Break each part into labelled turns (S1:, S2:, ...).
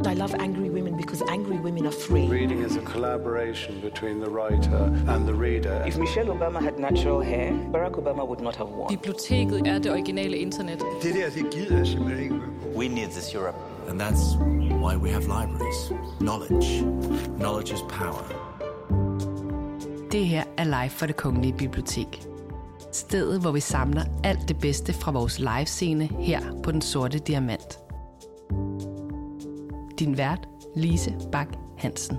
S1: I love angry women because angry women are free.
S2: Reading is a collaboration between the writer and the reader.
S3: If Michelle Obama had natural hair, Barack Obama would not have won.
S4: Biblioteket er det originale internet.
S5: Det gider jeg simpelthen ikke.
S6: We need this Europe.
S7: And that's why we have libraries. Knowledge. Knowledge is power.
S8: Det her er live fra Det Kongelige Bibliotek. Stedet, hvor vi samler alt det bedste fra vores livescene her på Den Sorte Diamant. Din vært, Lise Bak Hansen.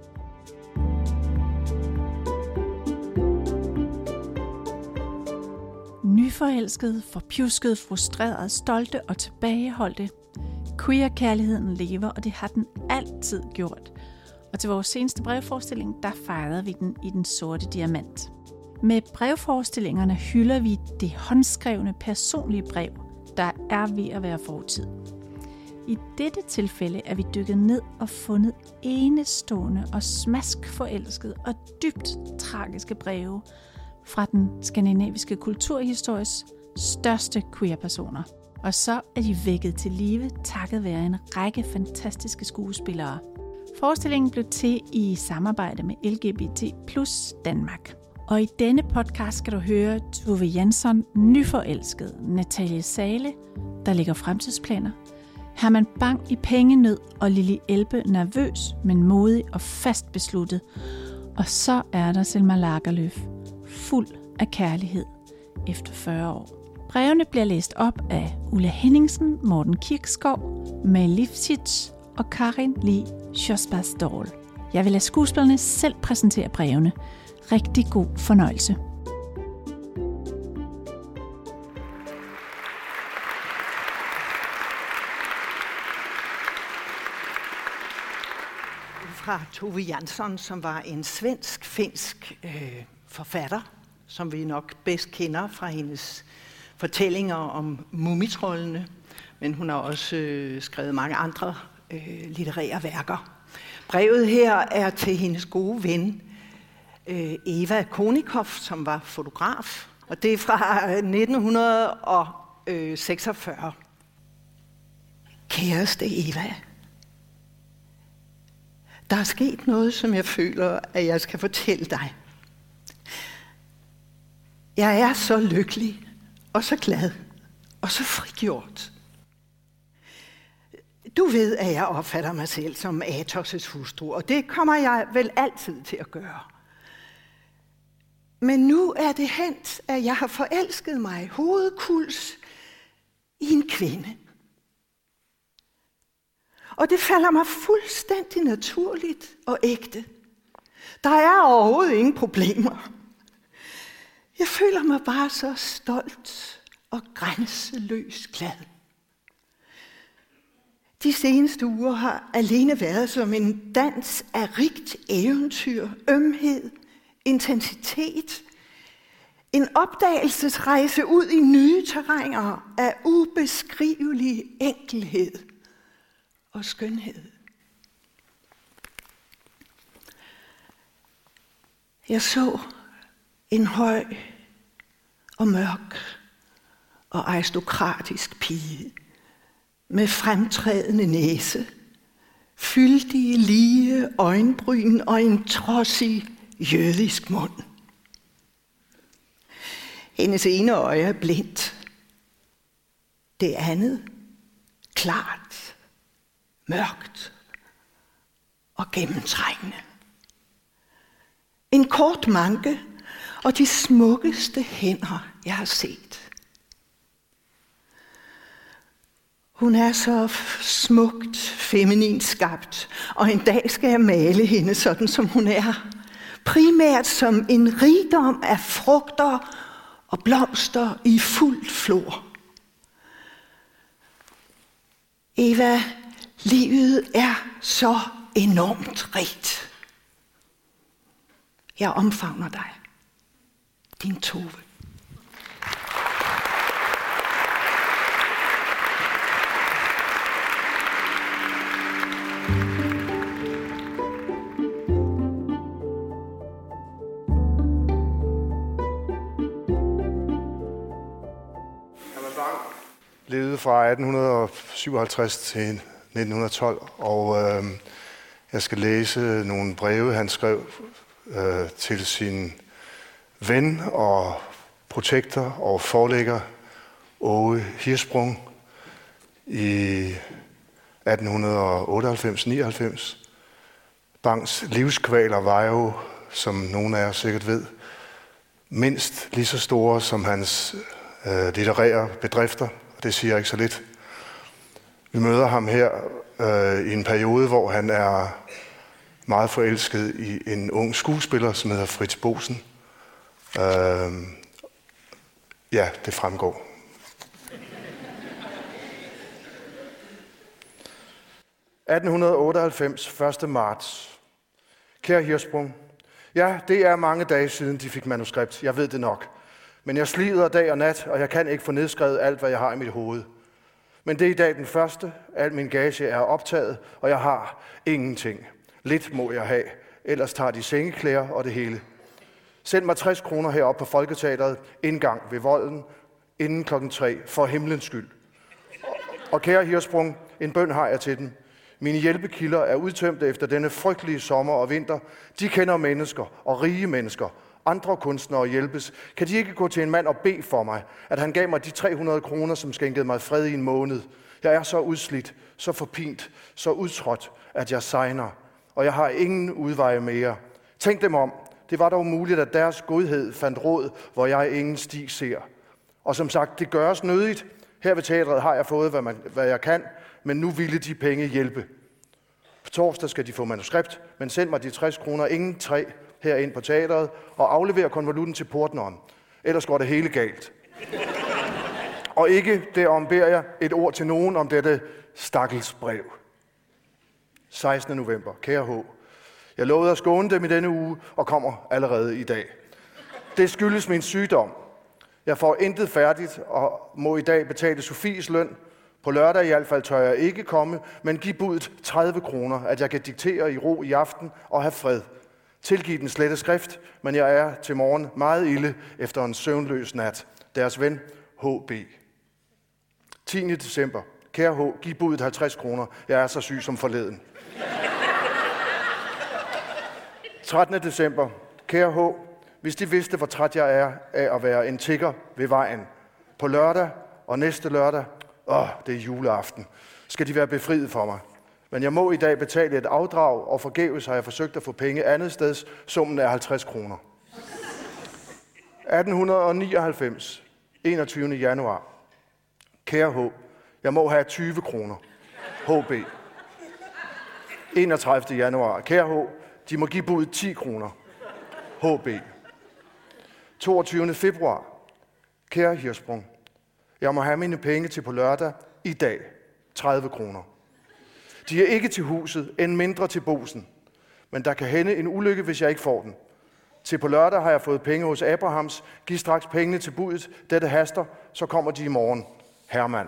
S9: Nyforelskede, forpjuskede, frustrerede, stolte og tilbageholdte. Queer-kærligheden lever, og det har den altid gjort. Og til vores seneste brevforestilling, der fejrede vi den i Den Sorte Diamant. Med brevforestillingerne hylder vi det håndskrevne personlige brev, der er ved at være fortid. I dette tilfælde er vi dykket ned og fundet enestående og smaskforelskede og dybt tragiske breve fra den skandinaviske kulturhistories største queer-personer. Og så er de vækket til live takket være en række fantastiske skuespillere. Forestillingen blev til i samarbejde med LGBT+ Danmark. Og i denne podcast skal du høre Tove Jansson, nyforelsket, Natalie Zahle, der lægger fremtidsplaner, Herman Bang i pengenød og Lili Elbe nervøs, men modig og fast besluttet. Og så er der Selma Lagerlöf, fuld af kærlighed efter 40 år. Brevene bliver læst op af Ulla Henningsen, Morten Kirkskov, May Lifshitz og Karin Lee Sjøsbergsdal. Jeg vil lade skuespillerne selv præsentere brevene. Rigtig god fornøjelse.
S10: Fra Tove Jansson, som var en svensk-finsk forfatter, som vi nok bedst kender fra hendes fortællinger om mumitrollene, men hun har også skrevet mange andre litterære værker. Brevet her er til hendes gode ven, Eva Konikoff, som var fotograf, og det er fra 1946. Kæreste Eva, der er sket noget, som jeg føler, at jeg skal fortælle dig. Jeg er så lykkelig, og så glad, og så frigjort. Du ved, at jeg opfatter mig selv som Athos' hustru, og det kommer jeg vel altid til at gøre. Men nu er det hent, at jeg har forelsket mig hovedkuls i en kvinde. Og det falder mig fuldstændig naturligt og ægte. Der er overhovedet ingen problemer. Jeg føler mig bare så stolt og grænseløs glad. De seneste uger har alene været som en dans af rigt eventyr, ømhed, intensitet. En opdagelsesrejse ud i nye terræner af ubeskrivelig enkelhed og skønhed. Jeg så en høj og mørk og aristokratisk pige med fremtrædende næse, fyldige, lige øjenbryn og en trodsig jødisk mund. Hendes ene øje er blindt, det andet klart, mørkt og gennemtrængende. En kort manke og de smukkeste hænder, jeg har set. Hun er så smukt, feminin skabt, og en dag skal jeg male hende sådan, som hun er. Primært som en rigdom af frugter og blomster i fuld flor. Eva, livet er så enormt rigt. Jeg omfavner dig, din Tove.
S5: Levede fra 1857 til
S2: 1912, og jeg skal læse nogle breve, han skrev til sin ven og protektor og forlægger Åge Hirschsprung i 1898-99. Bangs livskvaler var jo, som nogle af jer sikkert ved, mindst lige så store som hans litterære bedrifter, og det siger ikke så lidt. Vi møder ham her i en periode, hvor han er meget forelsket i en ung skuespiller, som hedder Fritz Bosen. Ja, det fremgår. »1898, 1. marts. Kære Hirschsprung, ja, det er mange dage siden, de fik manuskript. Jeg ved det nok. Men jeg slider dag og nat, og jeg kan ikke få nedskrevet alt, hvad jeg har i mit hoved. Men det er i dag den første. Al min gage er optaget, og jeg har ingenting. Lidt må jeg have, ellers tager de sengeklæder og det hele. Send mig 60 kroner heroppe på Folketeatret, indgang ved Volden, inden 3:00, for himlens skyld. Og kære Hirschsprung, en bøn har jeg til dem. Mine hjælpekilder er udtømte efter denne frygtelige sommer og vinter. De kender mennesker og rige mennesker. Andre kunstnere hjælpes. Kan de ikke gå til en mand og bede for mig, at han gav mig de 300 kroner, som skænkede mig fred i en måned? Jeg er så udslidt, så forpint, så udtrådt, at jeg segner, og jeg har ingen udveje mere. Tænk dem om. Det var dog muligt, at deres godhed fandt råd, hvor jeg ingen sti ser. Og som sagt, det gøres nødigt. Her ved teatret har jeg fået, hvad jeg kan, men nu ville de penge hjælpe. På torsdag skal de få manuskript, men send mig de 60 kroner ingen 3 herind på teatret og aflever konvolutten til portneren. Ellers går det hele galt. Og ikke derom beder jeg et ord til nogen om dette stakkels brev. 16. november. Kære H. Jeg lovede at skåne dem i denne uge og kommer allerede i dag. Det skyldes min sygdom. Jeg får intet færdigt og må i dag betale Sofies løn. På lørdag i hvert fald tør jeg ikke komme, men giv budet 30 kroner, at jeg kan diktere i ro i aften og have fred. Tilgiv den slette skrift, men jeg er til morgen meget ilde efter en søvnløs nat. Deres ven, H.B. 10. december. Kære H., giv budet 50 kroner. Jeg er så syg som forleden. 13. december. Kære H., hvis de vidste, hvor træt jeg er af at være en tigger ved vejen. På lørdag og næste lørdag, det er juleaften, skal de være befriet for mig. Men jeg må i dag betale et afdrag, og forgæves har jeg forsøgt at få penge andet steds. Summen er 50 kroner. 1899, 21. januar. Kære H., jeg må have 20 kroner. HB. 31. januar. Kære H., de må give budet 10 kroner. HB. 22. februar. Kære Hirschsprung, jeg må have mine penge til på lørdag i dag. 30 kroner. De er ikke til huset, end mindre til Bosen. Men der kan hænde en ulykke, hvis jeg ikke får den. Til på lørdag har jeg fået penge hos Abrahams. Giv straks pengene til budet. Dette haster, så kommer de i morgen. Hermann.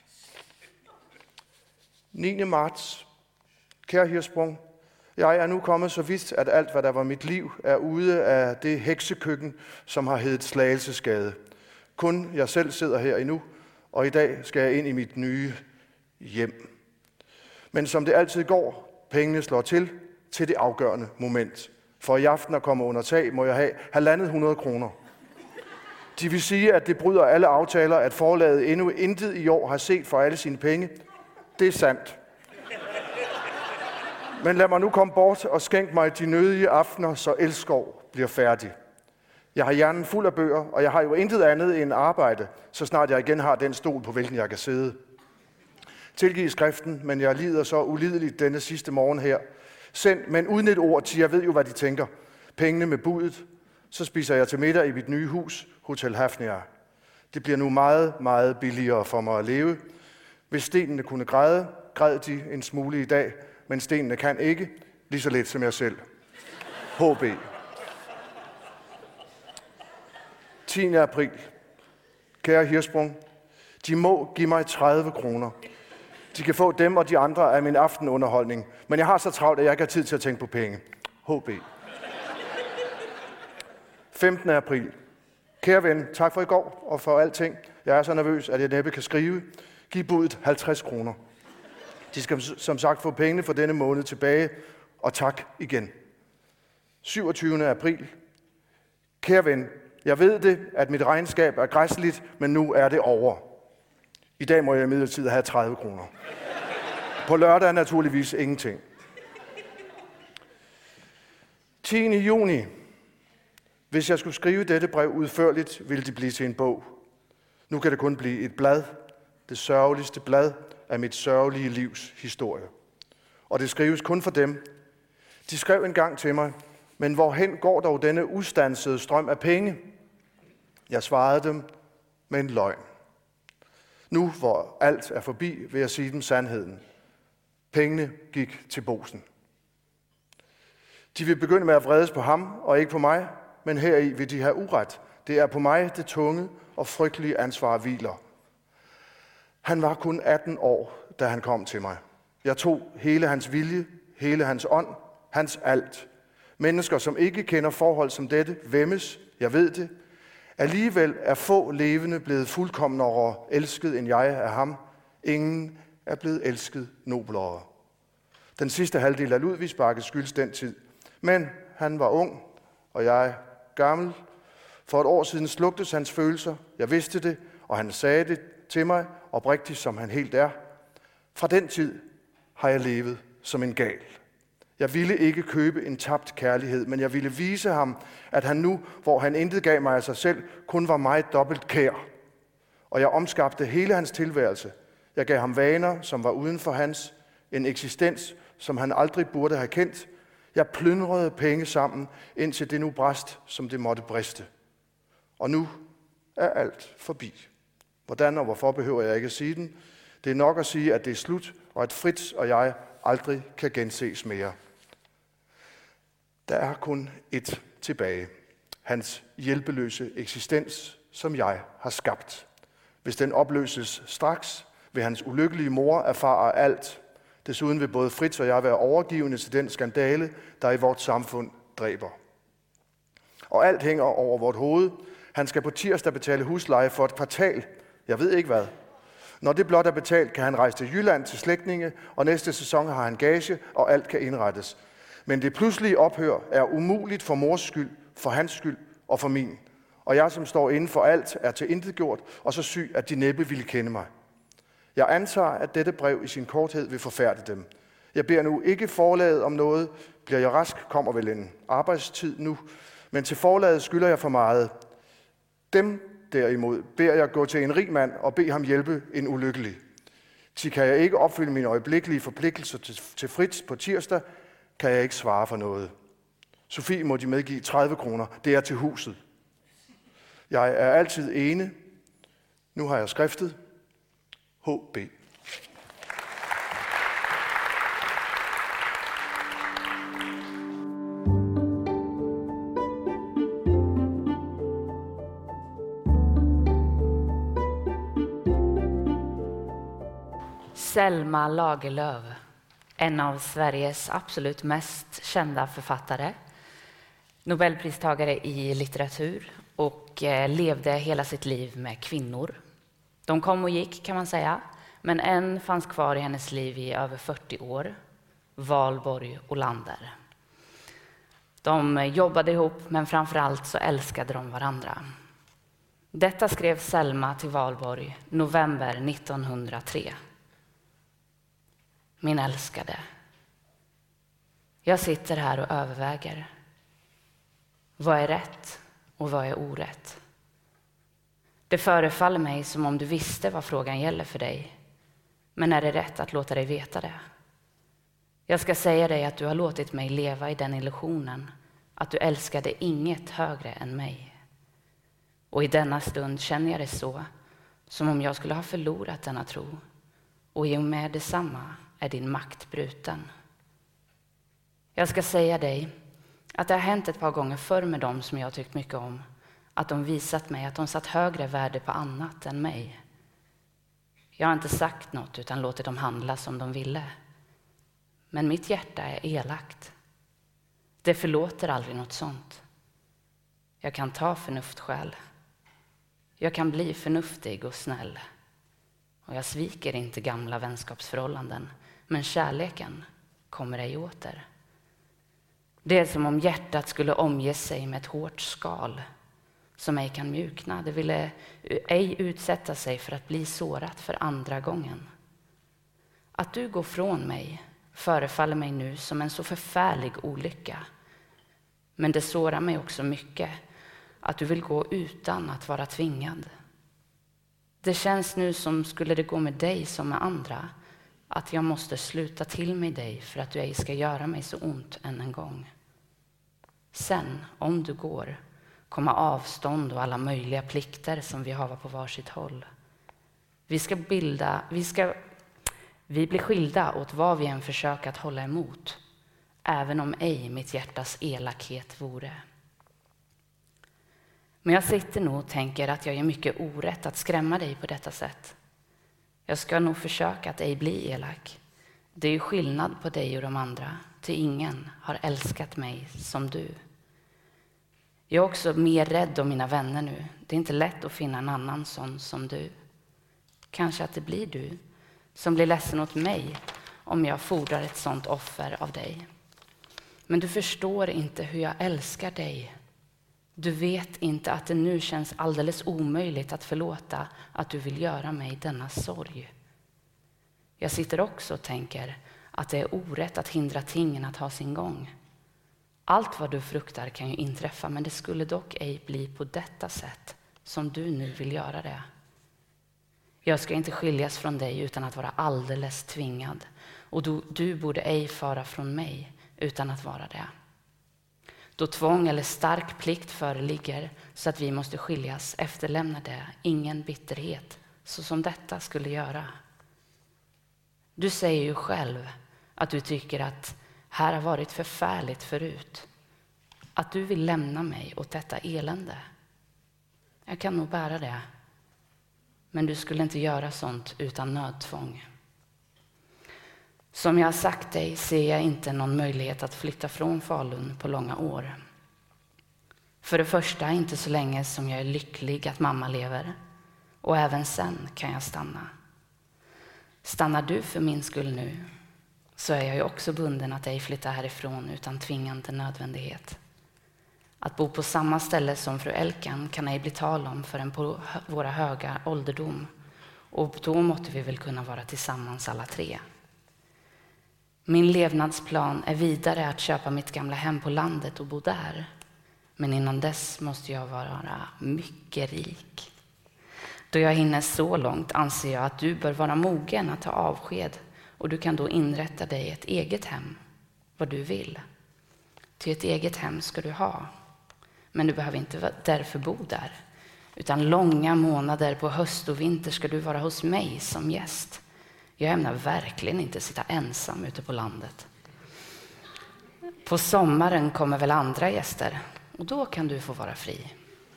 S2: 9. marts. Kære Hirschsprung, jeg er nu kommet så vidt, at alt, hvad der var mit liv, er ude af det heksekøkken, som har heddet Slagelsesgade. Kun jeg selv sidder her endnu, og i dag skal jeg ind i mit nye hjem. Men som det altid går, pengene slår til det afgørende moment. For i aften at komme under tag, må jeg have 150 kroner. De vil sige, at det bryder alle aftaler, at forlaget endnu intet i år har set for alle sine penge. Det er sandt. Men lad mig nu komme bort og skænk mig de nødige aftener, så Elskov bliver færdig. Jeg har hjernen fuld af bøger, og jeg har jo intet andet end arbejde, så snart jeg igen har den stol, på hvilken jeg kan sidde. Tilgiv skriften, men jeg lider så ulideligt denne sidste morgen her. Send, men uden et ord, til jeg ved jo, hvad de tænker. Pengene med budet, så spiser jeg til middag i mit nye hus, Hotel Hafnia. Det bliver nu meget, meget billigere for mig at leve. Hvis stenene kunne græde, græd de en smule i dag, men stenene kan ikke, lige så let som jeg selv. HB. 10. april. Kære Hirschsprung, de må give mig 30 kroner. De kan få dem og de andre af min aftenunderholdning, men jeg har så travlt, at jeg ikke har tid til at tænke på penge. HB. 15. april. Kære ven, tak for i går og for alting. Jeg er så nervøs, at jeg næppe kan skrive. Giv budet 50 kroner. De skal som sagt få pengene for denne måned tilbage, og tak igen. 27. april. Kære ven, jeg ved det, at mit regnskab er græsligt, men nu er det over. I dag må jeg imidlertid have 30 kroner. På lørdag naturligvis ingenting. 10. juni. Hvis jeg skulle skrive dette brev udførligt, ville det blive til en bog. Nu kan det kun blive et blad, det sørgeligste blad af mit sørgelige livs historie. Og det skrives kun for dem. De skrev engang til mig, men hvorhen går dog denne ustansede strøm af penge? Jeg svarede dem med en løgn. Nu, hvor alt er forbi, vil jeg sige dem sandheden. Pengene gik til Bosen. De vil begynde med at vredes på ham og ikke på mig, men heri vil de have uret. Det er på mig det tunge og frygtelige ansvar hviler. Han var kun 18 år, da han kom til mig. Jeg tog hele hans vilje, hele hans ånd, hans alt. Mennesker, som ikke kender forhold som dette, væmmes, jeg ved det. Alligevel er få levende blevet fuldkomnere elsket end jeg af ham. Ingen er blevet elsket noblere. Den sidste halvdel af Ludvigsbakke skyldes den tid. Men han var ung, og jeg gammel. For et år siden slugtes hans følelser. Jeg vidste det, og han sagde det til mig, oprigtigt som han helt er. Fra den tid har jeg levet som en gal. Jeg ville ikke købe en tabt kærlighed, men jeg ville vise ham, at han nu, hvor han intet gav mig af sig selv, kun var mig dobbelt kær. Og jeg omskabte hele hans tilværelse. Jeg gav ham vaner, som var uden for hans, en eksistens, som han aldrig burde have kendt. Jeg plyndrede penge sammen, indtil det nu brast, som det måtte briste. Og nu er alt forbi. Hvordan og hvorfor behøver jeg ikke at sige den. Det er nok at sige, at det er slut, og at Fritz og jeg aldrig kan genses mere. Der er kun ét tilbage. Hans hjælpeløse eksistens, som jeg har skabt. Hvis den opløses straks, vil hans ulykkelige mor erfare alt. Desuden vil både Fritz og jeg være overgivende til den skandale, der i vort samfund dræber. Og alt hænger over vort hoved. Han skal på tirsdag betale husleje for et kvartal. Jeg ved ikke hvad. Når det blot er betalt, kan han rejse til Jylland til slægtninge, og næste sæson har han gage, og alt kan indrettes. Men det pludselige ophør er umuligt for mors skyld, for hans skyld og for min. Og jeg, som står inden for alt, er tilintetgjort og så syg, at de næppe ville kende mig. Jeg antager, at dette brev i sin korthed vil forfærde dem. Jeg beder nu ikke forlaget om noget. Bliver jeg rask, kommer vel en arbejdstid nu. Men til forlaget skylder jeg for meget. Dem derimod beder jeg gå til en rig mand og bede ham hjælpe en ulykkelig. Til kan jeg ikke opfylde mine øjeblikkelige forpligtelser til Fritz på tirsdag, kan jeg ikke svare for noget. Sofie må de medgive 30 kroner. Det er til huset. Jeg er altid ene. Nu har jeg skriftet. H.B.
S6: Selma Lagerlöf, en av Sveriges absolut mest kända författare, Nobelpristagare i litteratur och levde hela sitt liv med kvinnor. De kom och gick kan man säga, men en fanns kvar i hennes liv i över 40 år, Valborg Olander. De jobbade ihop, men framförallt så älskade de varandra. Detta skrev Selma till Valborg november 1903. Min älskade. Jag sitter här och överväger. Vad är rätt och vad är orätt? Det förefaller mig som om du visste vad frågan gäller för dig. Men är det rätt att låta dig veta det? Jag ska säga dig att du har låtit mig leva i den illusionen att du älskade inget högre än mig. Och i denna stund känner jag det så, som om jag skulle ha förlorat denna tro. Och i och med detsamma är din makt bruten. Jag ska säga dig att det har hänt ett par gånger förr med dem som jag tyckt mycket om, att de visat mig att de satt högre värde på annat än mig. Jag har inte sagt något utan låtit dem handla som de ville. Men mitt hjärta är elakt. Det förlåter aldrig något sånt. Jag kan ta förnuftskäl. Jag kan bli förnuftig och snäll. Och jag sviker inte gamla vänskapsförhållanden. men kärleken kommer ej åter. Det är som om hjärtat skulle omge sig med ett hårt skal som ej kan mjukna. Det ville ej utsätta sig för att bli sårat för andra gången. Att du går från mig förefaller mig nu som en så förfärlig olycka. Men det sårar mig också mycket att du vill gå utan att vara tvingad. Det känns nu som skulle det gå med dig som med andra, att jag måste sluta till med dig för att du ej ska göra mig så ont än en gång. Sen, om du går, kommer avstånd och alla möjliga plikter som vi har på varsitt håll. Vi blir skilda åt vad vi än försöker att hålla emot, även om ej mitt hjärtas elakhet vore. Men jag sitter nog och tänker att jag är mycket orätt att skrämma dig på detta sätt. Jag ska nog försöka att ej bli elak. Det är ju skillnad på dig och de andra, till ingen har älskat mig som du. Jag är också mer rädd om mina vänner nu. Det är inte lätt att finna en annan sån som du. Kanske att det blir du som blir ledsen åt mig om jag fordrar ett sånt offer av dig. Men du förstår inte hur jag älskar dig. Du vet inte att det nu känns alldeles omöjligt att förlåta att du vill göra mig denna sorg. Jag sitter också och tänker att det är orätt att hindra tingen att ha sin gång. Allt vad du fruktar kan ju inträffa, men det skulle dock ej bli på detta sätt som du nu vill göra det. Jag ska inte skiljas från dig utan att vara alldeles tvingad, och du borde ej fara från mig utan att vara det. Då tvång eller stark plikt föreligger så att vi måste skiljas, efterlämnar det ingen bitterhet så som detta skulle göra. Du säger ju själv att du tycker att här har varit förfärligt förut. Att du vill lämna mig åt detta elände. Jag kan nog bära det. Men du skulle inte göra sånt utan nödtvång. Som jag har sagt dig ser jag inte någon möjlighet att flytta från Falun på långa år. För det första inte så länge som jag är lycklig att mamma lever. Och även sen kan jag stanna. Stannar du för min skull nu, så är jag ju också bunden att ej flytta härifrån utan tvingande nödvändighet. Att bo på samma ställe som fru Elkan kan ej bli tal om förrän på våra höga ålderdom. Och då måtte vi väl kunna vara tillsammans alla tre. Min levnadsplan är vidare att köpa mitt gamla hem på landet och bo där. Men innan dess måste jag vara mycket rik. Då jag hinner så långt anser jag att du bör vara mogen att ta avsked, och du kan då inrätta dig ett eget hem, vad du vill. Till ett eget hem ska du ha. Men du behöver inte därför bo där, utan långa månader på höst och vinter ska du vara hos mig som gäst. Jag ämnar verkligen inte sitta ensam ute på landet. På sommaren kommer väl andra gäster, och då kan du få vara fri.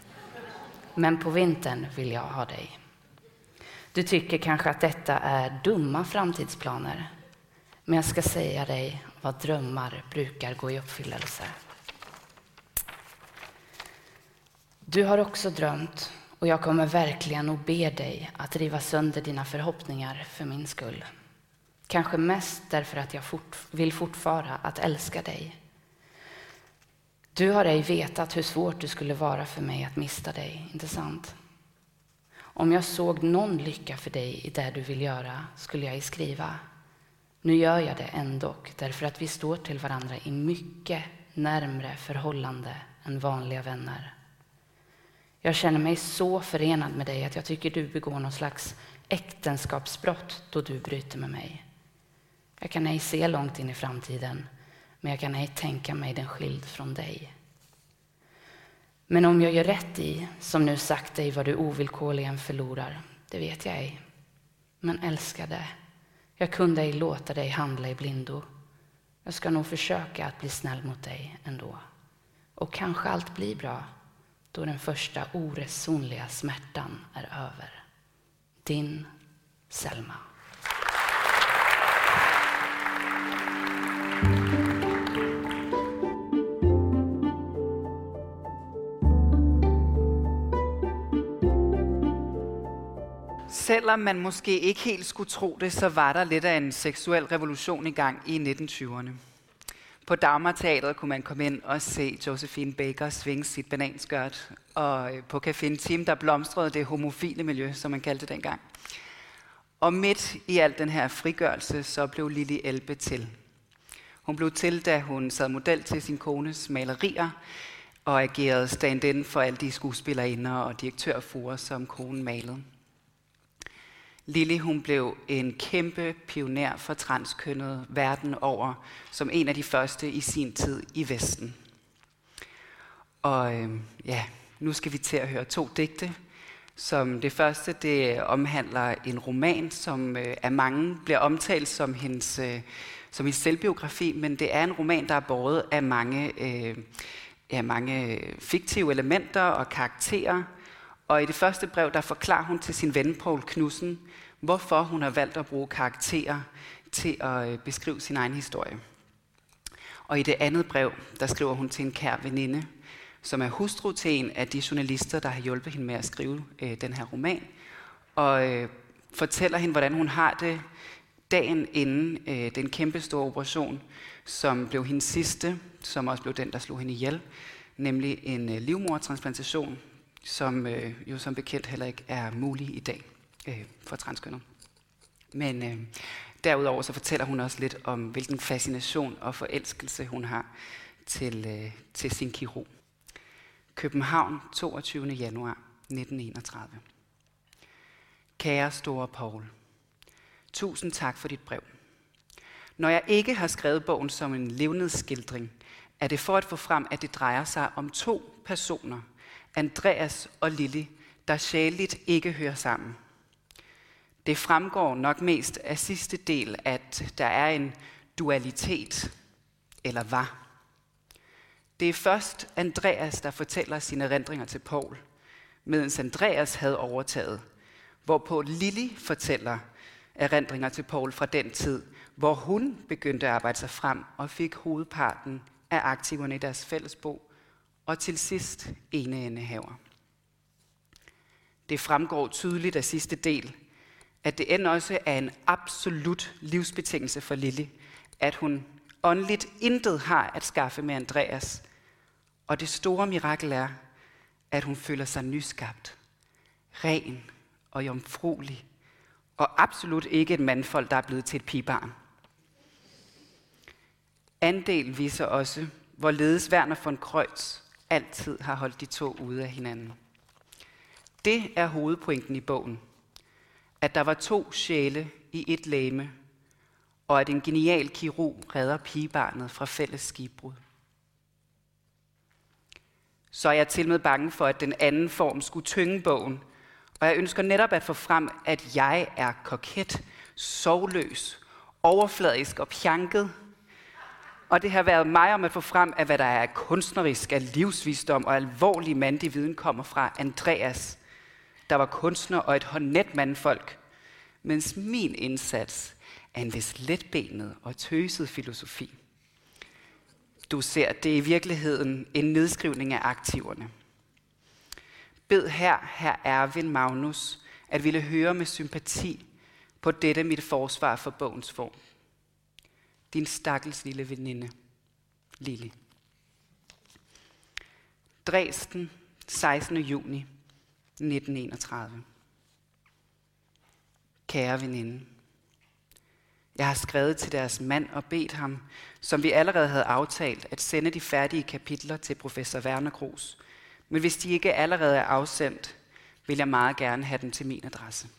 S6: Men på vintern vill jag ha dig. Du tycker kanske att detta är dumma framtidsplaner. Men jag ska säga dig vad drömmar brukar gå i uppfyllelse. Du har också drömt, och jag kommer verkligen att be dig att riva sönder dina förhoppningar för min skull. Kanske mest därför att jag vill fortfara att älska dig. Du har ej vetat hur svårt det skulle vara för mig att mista dig, inte sant? Om jag såg någon lycka för dig i det du vill göra skulle jag skriva. Nu gör jag det ändå, därför att vi står till varandra i mycket närmre förhållande än vanliga vänner. Jag känner mig så förenad med dig att jag tycker du begår någon slags äktenskapsbrott då du bryter med mig. Jag kan ej se långt in i framtiden, men jag kan ej tänka mig den skild från dig. Men om jag gör rätt i, som nu sagt dig, vad du ovillkorligen förlorar, det vet jag ej. Men älskade, jag kunde ej låta dig handla i blindo. Jag ska nog försöka att bli snäll mot dig ändå. Och kanske allt blir bra, då den första oresonliga smärtan är över. Din Selma.
S11: selvom man måske ikke helt skulle tro det, så var der lidt af en seksuel revolution i gang i 1920'erne. På Dagmar Teatret kunne man komme ind og se Josephine Baker svinge sit bananskørt, og på Café Team, der blomstrede det homofile miljø, som man kaldte det dengang. Og midt i al den her frigørelse, så blev Lili Elbe til. Hun blev til, da hun sad model til sin kones malerier, og agerede stand-in for alle de skuespillerinder og direktørfruer, som konen malede. Lili, hun blev en kæmpe pioner for transkønnet verden over, som en af de første i sin tid i Vesten. Og nu skal vi til at høre 2 digte. Som det første, det omhandler en roman, som af mange bliver omtalt som hendes selvbiografi, men det er en roman, der er båret af mange fiktive elementer og karakterer. Og i det første brev, der forklarer hun til sin ven Poul Knudsen, hvorfor hun har valgt at bruge karakterer til at beskrive sin egen historie. Og i det andet brev, der skriver hun til en kær veninde, som er hustru til en af de journalister, der har hjulpet hende med at skrive den her roman, og fortæller hende, hvordan hun har det dagen inden den kæmpe store operation, som blev hendes sidste, som også blev den, der slog hende ihjel, nemlig en livmodertransplantation, som jo som bekendt heller ikke er mulig i dag for transkønnet. Men derudover så fortæller hun også lidt om, hvilken fascination og forelskelse hun har til sin kirurg. København, 22. januar 1931. Kære store Poul, tusind tak for dit brev. Når jeg ikke har skrevet bogen som en levnedsskildring, er det for at få frem, at det drejer sig om 2 personer, Andreas og Lili, der sjæleligt ikke hører sammen. Det fremgår nok mest af sidste del, at der er en dualitet, eller var. Det er først Andreas, der fortæller sine erindringer til Poul, mens Andreas havde overtaget, hvorpå Lili fortæller erindringer til Poul fra den tid, hvor hun begyndte at arbejde sig frem og fik hovedparten af aktiverne i deres fællesbo, og til sidst eneindehaver. Det fremgår tydeligt af sidste del, at det end også er en absolut livsbetingelse for Lili, at hun åndeligt intet har at skaffe med Andreas, og det store mirakel er, at hun føler sig nyskabt, ren og jomfruelig, og absolut ikke et mandfolk, der er blevet til et pigebarn. Andel viser også, hvorledes Werner von Kreutz altid har holdt de 2 ude af hinanden. Det er hovedpointen i bogen, at der var 2 sjæle i et legeme, og at en genial kirurg redder pigebarnet fra fælles skibbrud. Så er jeg til med bange for, at den anden form skulle tynge bogen, og jeg ønsker netop at få frem, at jeg er koket, sorgløs, overfladisk og pjanket. Og det har været mig om at få frem, at hvad der er kunstnerisk, af livsvisdom og alvorlig mandig viden kommer fra Andreas, der var kunstner og et håndnet mandfolk, mens min indsats er en vis letbenet og tøset filosofi. Du ser, det er i virkeligheden en nedskrivning af aktiverne. Bed her Erwin Magnus, at ville høre med sympati på dette mit forsvar for bogens form. Din stakkels lille veninde, Lili. Dresden, 16. juni 1931. Kære veninde, jeg har skrevet til deres mand og bedt ham, som vi allerede havde aftalt, at sende de færdige kapitler til professor Werner Kroos. Men hvis de ikke allerede er afsendt, vil jeg meget gerne have dem til min adresse.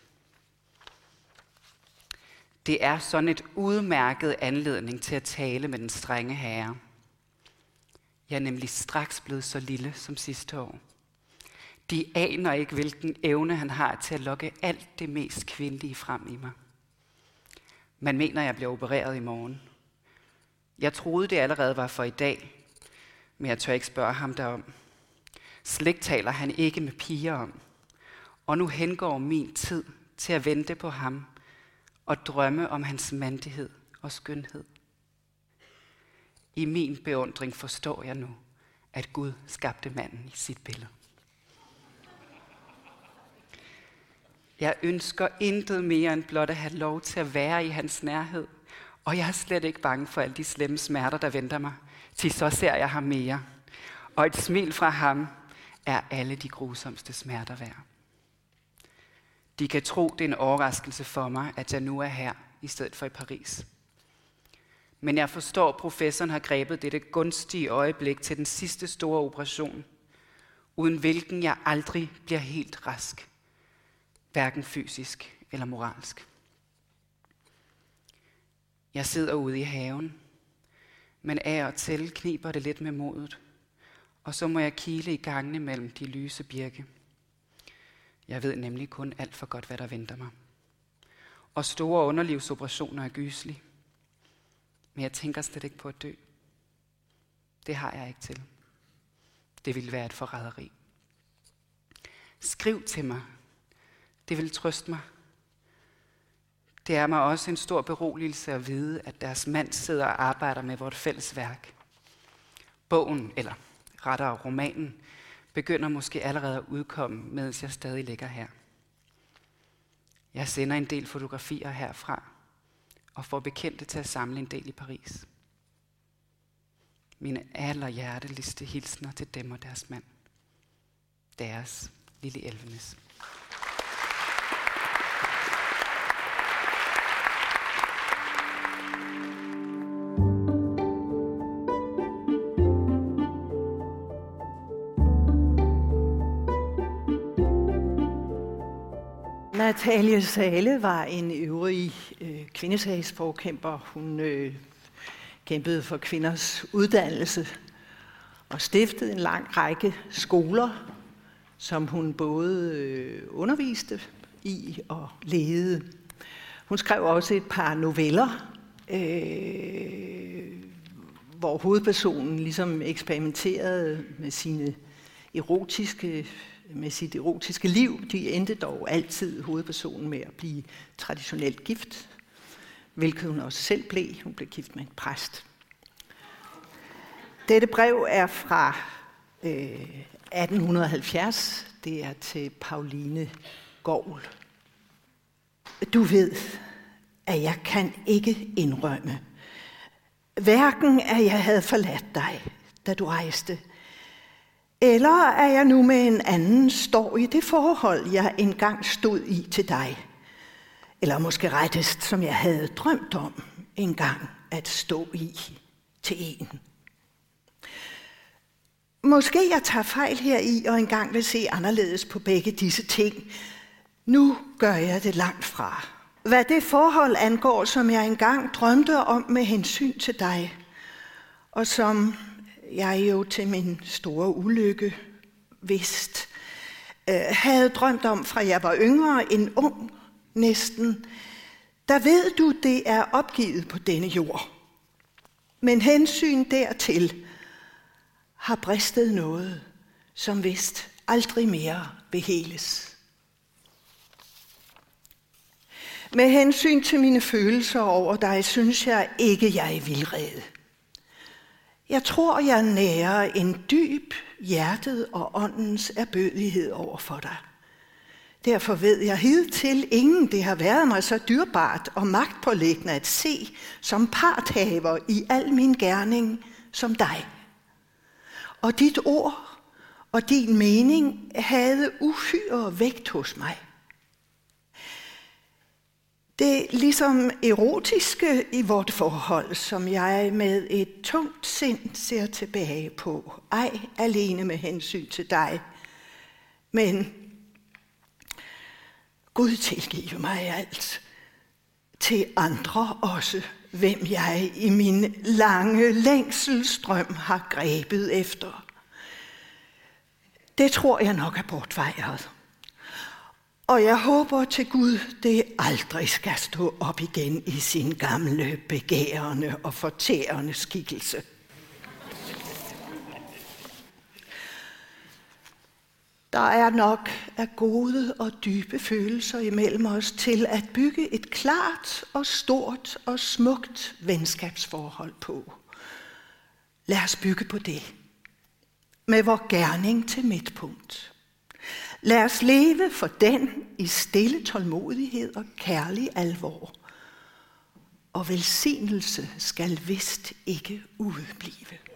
S11: Det er sådan et udmærket anledning til at tale med den strenge herre. Jeg er nemlig straks blevet så lille som sidste år. De aner ikke, hvilken evne han har til at lokke alt det mest kvindelige frem i mig. Man mener, jeg bliver opereret i morgen. Jeg troede, det allerede var for i dag, men jeg tør ikke spørge ham derom. Slet taler han ikke med piger om. Og nu hengår min tid til at vente på ham og drømme om hans mandighed og skønhed. I min beundring forstår jeg nu, at Gud skabte manden i sit billede. Jeg ønsker intet mere end blot at have lov til at være i hans nærhed. Og jeg er slet ikke bange for alle de slemme smerter, der venter mig. Til så ser jeg ham mere. Og et smil fra ham er alle de grusomste smerter værd. De kan tro, det er en overraskelse for mig, at jeg nu er her, i stedet for i Paris. Men jeg forstår, at professoren har grebet dette gunstige øjeblik til den sidste store operation, uden hvilken jeg aldrig bliver helt rask, hverken fysisk eller moralsk. Jeg sidder ude i haven, men af og til kniber det lidt med modet, og så må jeg kile i gangene mellem de lyse birke. Jeg ved nemlig kun alt for godt, hvad der venter mig. Og store underlivsoperationer er gyselige. Men jeg tænker slet ikke på at dø. Det har jeg ikke til. Det ville være et forræderi. Skriv til mig. Det vil trøste mig. Det er mig også en stor beroligelse at vide, at deres mand sidder og arbejder med vort fælles værk. Bogen, eller rettere romanen, begynder måske allerede at udkomme, mens jeg stadig ligger her. Jeg sender en del fotografier herfra, og får bekendte til at samle en del i Paris. Mine allerhjerteligste hilsner til dem og deres mand. Deres lille Elvenes.
S10: Natalie Zahle var en øvrig kvindesagsforkæmper. Hun kæmpede for kvinders uddannelse og stiftede en lang række skoler, som hun både underviste i og ledede. Hun skrev også et par noveller, hvor hovedpersonen ligesom eksperimenterede med sit erotiske liv. De endte dog altid hovedpersonen med at blive traditionelt gift, hvilket hun også selv blev. Hun blev gift med en præst. Dette brev er fra 1870. Det er til Pauline Gorl. Du ved, at jeg kan ikke indrømme, hverken at jeg havde forladt dig, da du rejste, eller at jeg nu med en anden står i det forhold, jeg engang stod i til dig. Eller måske rettest, som jeg havde drømt om engang at stå i til en. Måske jeg tager fejl heri og engang vil se anderledes på begge disse ting. Nu gør jeg det langt fra. Hvad det forhold angår, som jeg engang drømte om med hensyn til dig, og som jeg jo til min store ulykke havde drømt om, fra jeg var yngre, en ung næsten, der ved du, det er opgivet på denne jord. Men hensyn dertil har bristet noget, som vist aldrig mere beheles. Med hensyn til mine følelser over dig, synes jeg ikke, jeg er vildrede. Jeg tror, jeg nærer en dyb hjertet og åndens erbødighed over for dig. Derfor ved jeg hidtil ingen, det har været mig så dyrbart og magtpåliggende at se som parthaver i al min gerning som dig. Og dit ord og din mening havde uhyre vægt hos mig. Det ligesom erotiske i vort forhold, som jeg med et tungt sind ser tilbage på, ej alene med hensyn til dig, men Gud tilgive mig alt, til andre også, hvem jeg i min lange længselsstrøm har grebet efter. Det tror jeg nok er bortvejret. Og jeg håber til Gud, det aldrig skal stå op igen i sin gamle, begærende og fortærende skikkelse. Der er nok af gode og dybe følelser imellem os til at bygge et klart og stort og smukt venskabsforhold på. Lad os bygge på det. Med vor gerning til midtpunkt. Lad os leve for den i stille tålmodighed og kærlig alvor. Og velsignelse skal vist ikke udeblive.